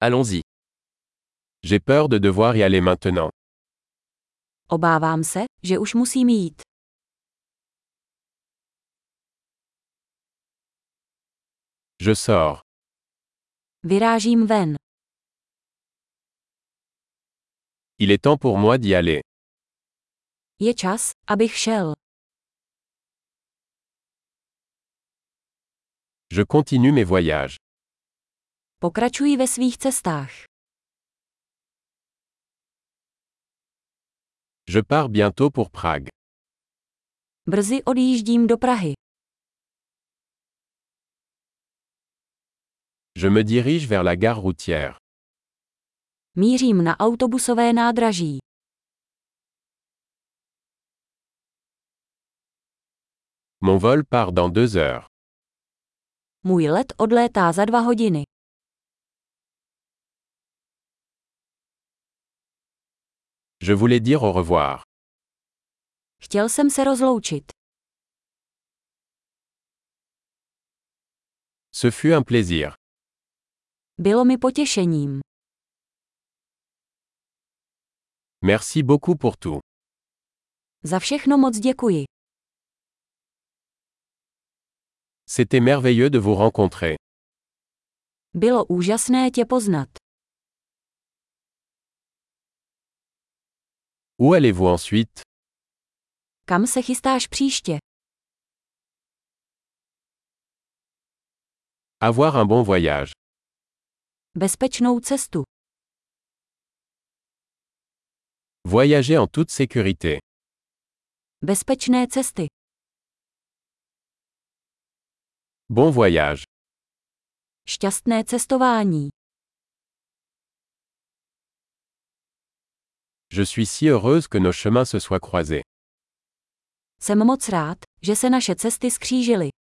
Allons-y. J'ai peur de devoir y aller maintenant. Obávám se, že už musím jít. Je sors. Vyrážím ven. Il est temps pour moi d'y aller. Je čas, abych šel. Je continue mes voyages. Pokračuji ve svých cestách. Je pars bientôt pour Prague. Brzy odjíždím do Prahy. Je me dirige vers la gare routière. Mířím na autobusové nádraží. Mon vol part dans 2 heures. Můj let odlétá za 2 hodiny. Je voulais dire au revoir. Chtěl jsem se rozloučit. Ce fut un plaisir. Bylo mi potěšením. Merci beaucoup pour tout. Za všechno moc děkuji. C'était merveilleux de vous rencontrer. Bylo úžasné tě poznat. Où allez-vous ensuite? Kam se chystáš příště? Avoir un bon voyage. Bezpečnou cestu. Voyager en toute sécurité. Bezpečné cesty. Bon voyage. Šťastné cestování. Je suis si heureuse que nos chemins se soient croisés. Jsem moc rád, že se naše cesty skřížily.